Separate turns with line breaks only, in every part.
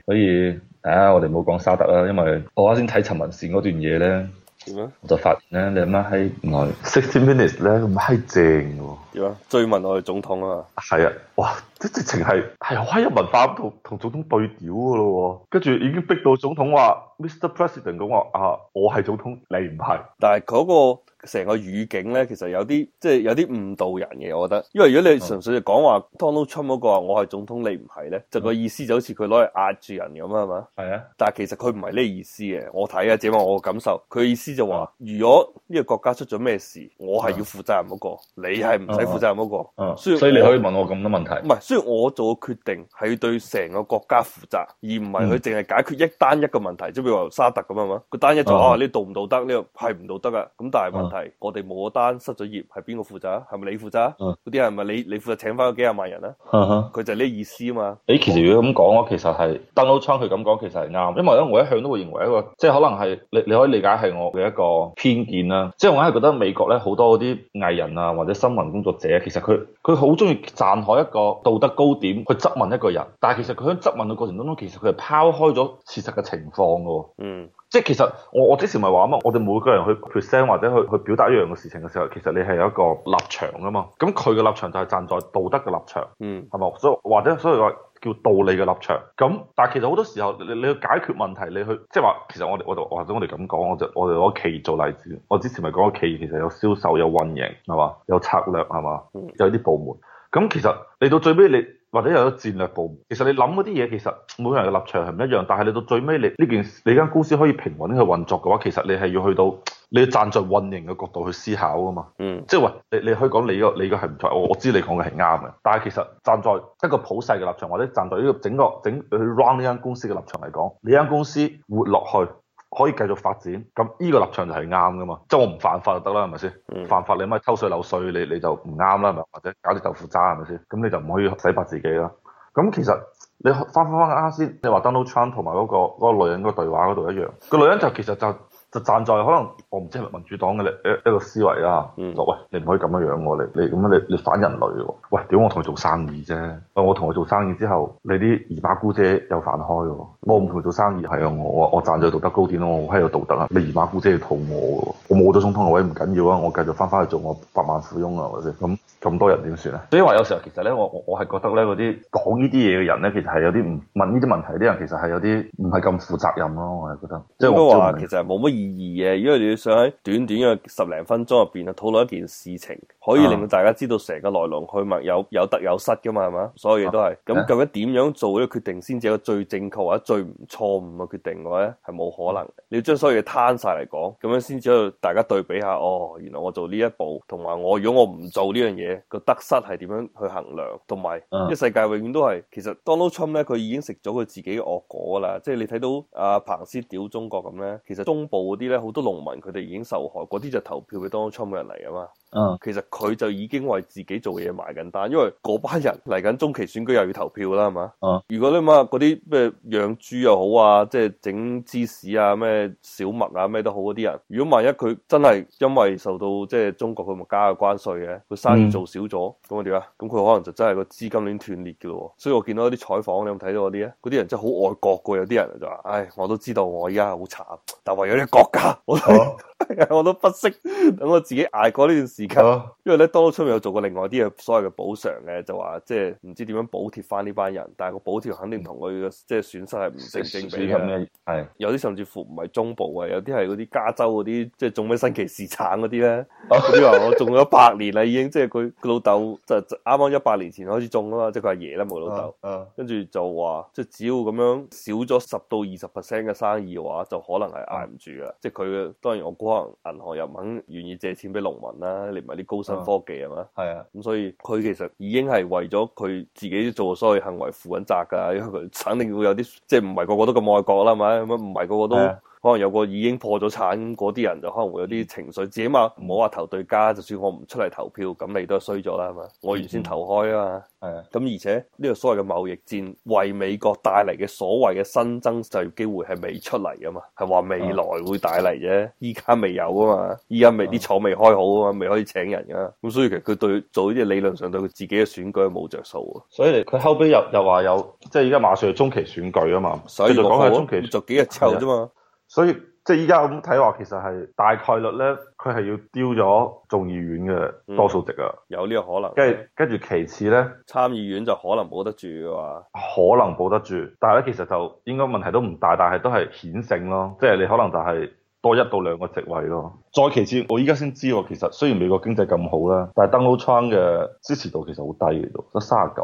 所以我哋冇講沙特啦，因為我啱先睇陳文善嗰段嘢咧，
點啊？
我就發現咧，你阿媽喺原來60 minutes 咧咁閪正嘅喎。
點啊？追問我哋總統啊嘛。
係啊，哇！即直情係好閪有文化同總統對調嘅咯喎，跟住已經逼到總統話 Mr. President 咁話啊，我係總統，你唔係。
但係嗰個成個語境咧，其實有啲即係有啲誤導人嘅，我覺得。因為如果你純粹就講話 Donald Trump 嗰個話我係總統，你唔係咧，就個意思就好似佢攞嚟壓住人咁啊嘛。
係啊，
但係其實佢唔係呢個意思嘅，我睇啊，只係我嘅感受。佢意思就話，如果呢個國家出咗咩事，我係要負責任嗰個，你係唔使負責任嗰個。
所以你可以問我咁多問題。
唔係，雖然我做嘅決定係要對成個國家負責，而唔係佢淨係解決一個問題，即係譬如話沙特咁啊嘛。佢單一就呢道唔道德，呢個係唔道德噶。咁但係問題，我哋冇單失咗業，係邊個負責啊？係咪你負責啊？嗰啲係咪你負責請翻嗰幾廿萬人啊？佢就係呢意思啊嘛。
其實如果咁講，我其實係 Donald Trump 佢咁講，其實係啱，因為咧我一向都會認為一個，即係可能係你可以理解係我嘅一個偏見啦。即係我係覺得美國咧好多嗰啲藝人啊或者新聞工作者，其實佢好中意站喺一個道德高點去質問一個人，但係其實佢喺質問嘅過程當中，其實佢係拋開咗事實嘅情況㗎。即係其實我之前咪話啊嘛，我哋每個人去 present 或者去表達一樣嘅事情嘅時候，其實你係有一個立場㗎嘛。咁佢嘅立場就係站在道德嘅立場，係咪？所以話叫道理嘅立場。咁但係其實好多時候你去解決問題，你去即係話其實我哋或者我哋咁講，我哋攞企業做例子。我之前咪講過企業其實有銷售、有運營係嘛，有策略係嘛，有啲部門。咁其實嚟到最尾你或者有咗戰略部門，其實你諗嗰啲嘢，其實每個人嘅立場係唔一樣，但係你到最尾你間公司可以平穩去運作嘅話，其實你係要去到你要站在運營嘅角度去思考㗎嘛。即係話你可以講你個係唔錯，我知你講嘅係啱嘅，但係其實站在一個普世嘅立場，或者站在呢個整去 run 呢間公司嘅立場嚟講，你間公司活落去，可以繼續發展，咁呢個立場就係啱噶嘛，即係我唔犯法就得啦，係咪先？犯法你咪偷稅漏稅，你就唔啱啦，係咪？或者搞啲豆腐渣係咪先？咁你就唔可以洗白自己啦。咁其實你翻啱先，你話 Donald Trump 同埋嗰個女人嗰個對話嗰度一樣，個女人就其實就站在可能我唔知係咪民主黨嘅一個思維啦，就喂你唔可以咁樣樣喎，你咁樣你反人類喎，喂屌我同佢做生意啫，我同佢做生意之後，你啲姨媽姑姐有飯開喎，我唔同佢做生意係啊，我站在道德高點咯，我係有道德啊，你姨媽姑姐要肚餓喎，我冇咗總統嘅位唔緊要啊，我繼續翻去做我百萬富翁啊，係咪先？咁多人點算啊？所以話有時候其實咧，我係覺得咧嗰啲講呢啲嘢嘅人咧，其實係有啲唔問呢啲問題啲人，其實係有啲唔係咁負責任咯，我係覺得。即係
應該話其實冇乜意義嘅，因為你要想喺短短嘅十零分鐘入邊啊討論一件事情，可以令到大家知道成個來龍去脈有得有失噶嘛，係嘛？所有嘢都係。咁究竟點樣做呢個決定先至係一個最正確或者最唔錯誤嘅決定嘅話咧，係冇可能嘅。你要將所有嘢攤晒嚟講，咁樣先至可以大家對比下，哦，原來我做呢一步，同埋如果我唔做呢樣嘢。個得失係點樣去衡量，同埋呢世界永遠都係，其實 Donald Trump 咧，佢已經食咗佢自己嘅惡果啦。即係你睇到阿彭斯屌中國咁咧，其實中部嗰啲咧好多農民佢哋已經受害，嗰啲就投票俾 Donald Trump 嘅人嚟啊嘛。其實佢就已經為自己做嘢埋緊單，因為嗰班人嚟緊中期選舉又要投票啦，係嘛？如果你話嗰啲咩養豬又好啊，即係整芝士啊、咩小麥啊、咩都好嗰啲人，如果萬一佢真係因為受到即係中國佢咪加嘅關稅嘅，佢生意做少咗，咁啊點啊？咁佢可能就真係個資金鏈斷裂嘅咯。所以我見到啲採訪，你有冇睇到嗰啲咧？嗰啲人真係好愛國嘅，有啲人就話：唉，我都知道我而家好慘，但為咗呢個國家，我都不惜等我自己捱過呢段時間。因為咧，Donald Trump有做過另外啲嘅所謂嘅補償嘅，就話即係唔知點樣補貼翻呢班人，但係個補貼肯定同佢嘅即係損失係唔成正比嘅。係有啲甚至乎唔係中部啊，有啲係嗰啲加州嗰啲，即係種咩新奇士橙嗰啲咧。嗰啲話我種咗100年啦，已經即係佢老豆就啱啱100年前開始種啊嘛，即係佢阿爺啦，冇老豆。跟住就話即係只要咁樣少咗10到20% 嘅生意嘅話，就可能係捱唔住噶。即係佢嘅當然我估可能銀行又唔肯願意借錢俾農民啦，你唔係啲高新科技係嘛？係啊，咁所以佢其實已經係為咗佢自己做所有行為負緊責噶，因為佢肯定會有啲即係唔係個個都咁愛國啦，係咪？咁唔係個個都可能有個已經破咗產嗰啲人就可能會有啲情緒，自己嘛唔好話投對家，就算我唔出嚟投票，咁你都係衰咗啦，係嘛？我原先投開啊嘛。
係啊，
咁而且呢個所謂嘅貿易戰為美國帶嚟嘅所謂嘅新增就業機會係未出嚟噶嘛，係話未來會帶嚟啫，依家未有啊嘛，依家未啲廠未開好啊嘛，未可以請人噶，咁所以其實佢對做呢啲理論上對佢自己嘅選舉係冇着數啊。
所以佢後尾又話有，即係依家馬上係中期選舉啊嘛，
所以
就講係中期，
就幾日之後啫嘛。
所以即係依家咁睇話，其實係大概率咧，佢係要丟咗眾議院嘅多數席啊，
有呢個可能。
跟住其次咧，
參議院就可能冇得住嘅話，
可能保得住，但係咧其實就應該問題都唔大，但係都係顯性咯，即係你可能就係多1到2個席位咯。再其次，我依家先知喎，其實雖然美國經濟咁好啦，但係 Donald Trump 嘅支持度其實好低嘅，得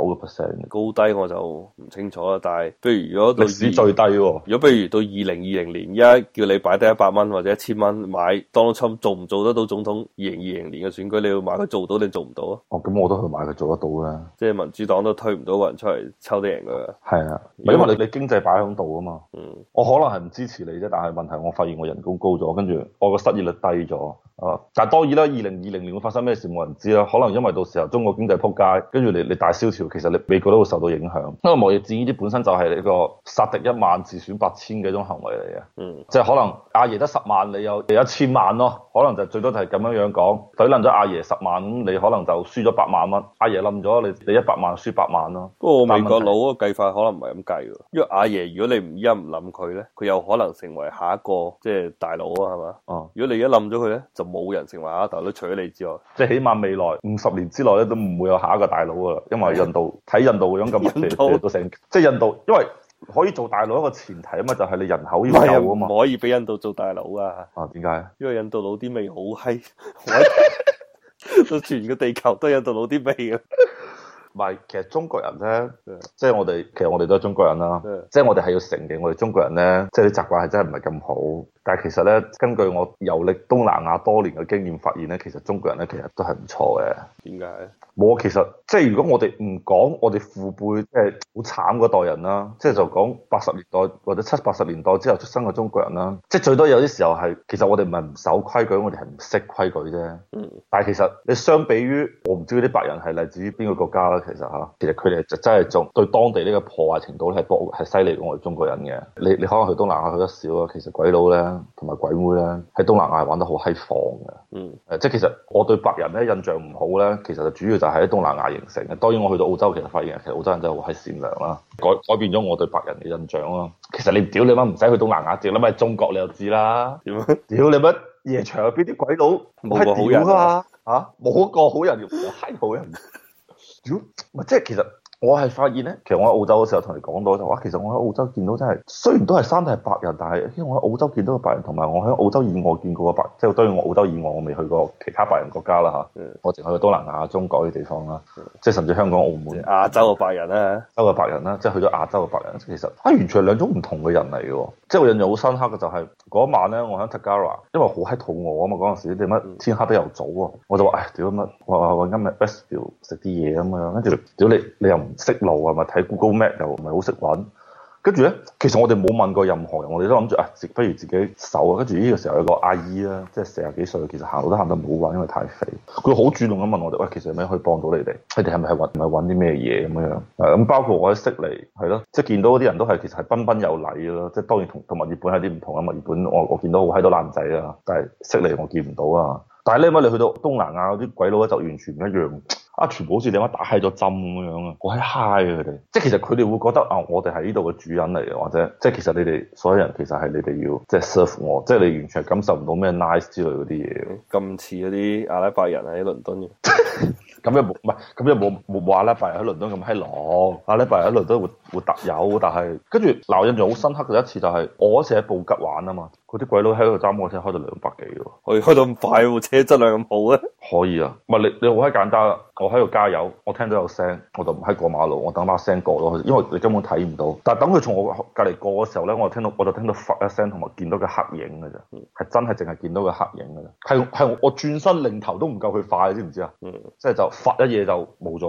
39%。
高低我就唔清楚啦。但係，譬如如果到
歷史最低喎，
如果譬如到2020年，而家叫你擺低100蚊或者1000蚊買 Donald Trump 做唔做得到總統？2020年嘅選舉，你要買佢做到定做唔到啊？
哦，咁我都去買佢做得到啦。
即係民主黨都推唔到個人出嚟抽啲贏佢。
係啊，因為你經濟擺喺度啊嘛。我可能係唔支持你啫，但係問題我發現我人工高咗，跟住我個失業率低咗。啊！但係當然啦，2020年會發生咩事冇人知啦。可能因為到時候中國經濟撲街，跟住你大蕭條，其實你美國都會受到影響。因為貿易戰呢啲本身就係你個殺敵1萬自損8千嘅一種行為嚟嘅。即係可能阿爺得10萬，你有1000萬咯。可能就最多就係咁樣講，懟冧咗阿爺10萬，咁你可能就輸咗8萬蚊。阿爺冧咗你100萬輸8萬咯。
不過美國佬嗰個計法可能唔係咁計喎，因為阿爺如果你唔冧佢咧，佢有可能成為下一個即係大佬啊，係嘛？哦，如果你一冧咗佢咧，就冇人成為下一大佬，除咗你之外，即係
起碼未來50年之內咧都唔會有下一個大佬噶啦，因為印度睇印度個樣咁都成，即係印度，因為可以做大佬一個前提啊嘛，就係你人口要夠啊嘛，
唔可以俾印度做大佬啊！
啊，點解？
因為印度佬啲味好閪，到全個地球都係印度佬啲味啊！
唔係，其實中國人咧，即係其實我哋都係中國人啦，即係我哋係要承認我哋中國人咧，即係啲習慣係真係唔係咁好。但係其實咧，根據我遊歷東南亞多年嘅經驗發現咧，其實中國人咧其實都係唔錯嘅。
點解？
冇，其實即係如果我哋唔講我哋父輩即係好慘嗰代人啦，即係就講80年代或者70、80年代之後出生嘅中國人啦，即係最多有啲時候係其實我哋唔係唔守規矩，我哋係唔識規矩啫。但係其實你相比於我唔知嗰啲白人係嚟自於邊個國家啦，其實佢哋就真係仲對當地呢個破壞程度咧係犀利過我哋中國人嘅。你可能去東南亞去得少啊，其實鬼佬咧同埋鬼妹咧喺東南亞玩得好閪放嘅。即係其實我對白人咧印象唔好咧，其實就主要就係喺東南亞形成嘅。當然我去到澳洲，其實發現其實澳洲人真係好閪善良啦，改變咗我對白人嘅印象啦。其實你屌你媽唔使去東南亞，直諗喺中國你就知啦。點樣？屌你乜夜場入邊啲鬼佬
冇個好人啊！
嚇冇個好人，閪好人。屌，即係其實。我係發現咧，其實我喺澳洲嘅時候同你講到就話，其實我喺澳洲見到真係，雖然都係生得係白人，但係因為我喺澳洲見到嘅白人，同埋我喺澳洲以外見過嘅白人，即係當然我澳洲以外我未去過其他白人國家啦嚇，我淨係去過東南亞、中國啲地方啦，即係甚至香港、澳門、
亞洲嘅白人啦，
亞洲嘅白人啦，即係去咗亞洲嘅白人，其實完全係兩種唔同嘅人嚟嘅喎。即係我印象好深刻嘅就係嗰晚咧，我喺 Tagara，因為好閪肚餓啊嘛，嗰陣時點解天黑得又早啊，我就話唉屌乜，我今日 Westfield 食啲嘢咁樣，跟住屌你又唔識路係咪？睇 Google Map 又唔係好識揾，跟住咧，其實我哋冇問過任何人，我哋都諗住不如自己搜啊。跟住呢個時候有個阿姨啦，即係40幾歲，其實行路都行得唔好揾，因為太肥。佢好主動咁問我哋，喂，其實有咩可以幫到你哋？你哋係咪揾啲咩嘢咁樣？咁包括我喺悉尼係咯，即係見到嗰啲人都係其實係彬彬有禮咯。即係當然同墨爾本係啲唔同啊。墨爾本我見到好閪多爛仔啊，但係悉尼我見唔到啊。但係咧，你去到東南亞嗰啲鬼佬咧就完全唔一樣。全部好似你媽打閪咗針咁樣啊！好閪嗨啊佢哋，即係其實佢哋會覺得我哋係呢度嘅主人嚟嘅，或者即係其實你哋所有人其實係你哋要即係 serve 我，即係你完全係感受唔到咩 nice 之類嗰啲嘢。咁似嗰啲阿拉伯人喺倫敦嘅，咁又冇唔係，咁又冇阿拉伯人喺倫敦咁閪狼，阿拉伯人喺倫敦會特有，但係跟住嗱，我印象好深刻嘅一次就係我嗰次喺布吉玩啊嘛，嗰啲鬼佬喺度揸摩托車開到200幾喎，可以開到咁快喎，車質量咁好咧？可以啊，唔係你好閪簡單啊！我喺度加油，我聽到有聲，我就唔喺過馬路，我等把聲過咯，因為你根本睇唔到。但係等佢從我隔離過嘅時候咧，我就聽到發一聲，同埋見到個黑影嘅啫，係真係淨係見到個黑影嘅啫，係我轉身擰頭都唔夠佢快，知唔知啊？即係就發一嘢就冇咗啦。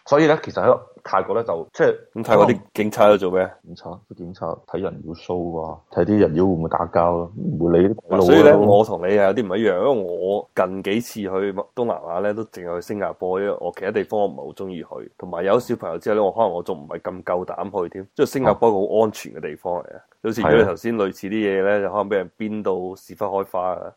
所以咧，其實喺泰國咧就即係
咁泰國啲警察喺度做咩？
檢查睇人妖 show 啊，睇啲人妖會唔會打交咯，唔會理啲鬼佬。
所以咧，我同你係有啲唔一樣，因為我近幾次去東南亞咧，都淨係去新加坡，因為我其他地方我唔係好中意去，同埋有小朋友之後咧，我可能我仲唔係咁夠膽去添，即係新加坡一個好安全嘅地方嚟嘅。好似如果你頭先類似啲嘢咧，就可能俾人鞭到屎忽開花啊！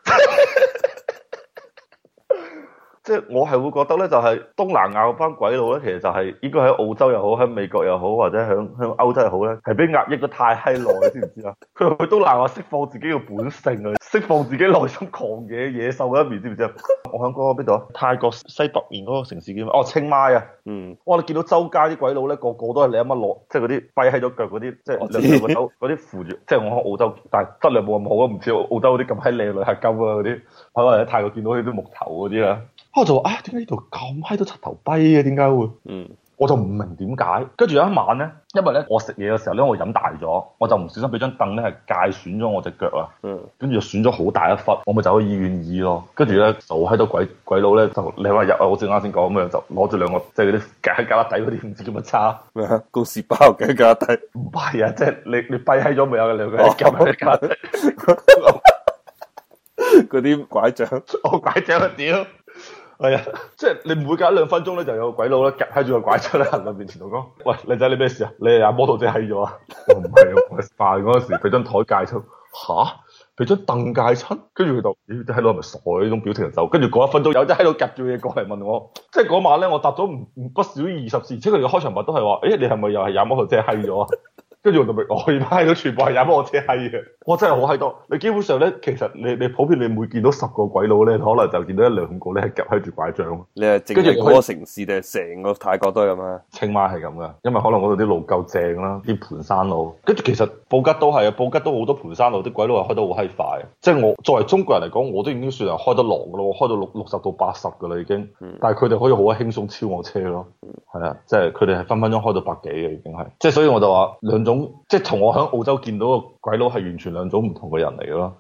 即係我係會覺得咧，就係東南亞嗰班鬼佬咧，其實就係應該喺澳洲又好，喺美國又好，或者喺歐洲又好咧，係俾壓抑得太閪耐，知唔知啊？佢去東南亞釋放自己嘅本性啊，釋放自己內心狂野野獸嘅一面，知唔知啊？我喺嗰個邊度啊？泰國西北面嗰個城市叫咩？哦，清邁啊！哇！你見到周街啲鬼佬咧，個個都係你阿媽攞，即係嗰啲跛喺咗腳嗰啲，即係兩個手嗰啲扶住。即係我喺澳洲，但係質量冇咁好啊，唔似澳洲嗰啲咁閪靚女係金啊嗰啲，可能喺泰國見到佢啲木頭嗰啲啦。我就話啊，點解呢度咁閪多柒頭跛嘅？點解會？我就唔明點解。跟住有一晚咧，因為咧我食嘢嘅時候咧，我飲大咗，我就唔小心俾張凳咧係界損咗我隻腳啊。跟住就損咗好大一忽，我咪走去醫院醫咯。跟住咧就喺度鬼佬咧就你話入啊，我正啱先講咁樣，就攞住兩個即係嗰啲夾喺旮旯底嗰啲唔知叫乜叉
咩啊？公事包嘅旮旯底？
唔係啊，即係你跛喺咗未有嘅兩個夾喺旮旯底
嗰啲拐杖，
我拐杖啊屌！係啊，即係你每隔一兩分鐘咧，就有個鬼佬咧夾喺住個拐杖喺行人面前度講：喂，靚仔你咩事啊？你係阿摩托車閪咗啊？我唔係啊，我食飯嗰陣時俾張台戒親，吓？俾張凳戒親？跟住佢就，咦，啲閪佬係咪傻呢種表情就走？跟住嗰一分鐘有隻閪佬夾住嘢過嚟問我，即係嗰晚咧我答咗不少於20次，即係佢哋嘅開場白都係話：誒，你係咪又係踩摩托車閪咗啊？跟住我就明，我而家喺度全部係踩摩托車閪嘅，我真係好閪多。你基本上咧，其實你普遍你每見到10個鬼佬咧，可能就見到1-2個咧係夾喺住拐杖。
你係淨係嗰個城市定係成個泰國都係咁啊？
清邁係咁噶，因為可能嗰度啲路夠正啦，啲盤山路。跟住其實布吉都係啊，布吉都好多盤山路，啲鬼佬係開得好閪快。即係我作為中國人嚟講，我都已經算係開得狼噶咯，我開到60到80噶啦已經。但係佢哋可以好輕鬆超我車咯。係啊，即係佢哋係分分鐘開到100幾嘅已經係。即係所以我就話兩種，即係同我喺澳洲見到個鬼佬係完全兩種唔同嘅人嚟嘅咯。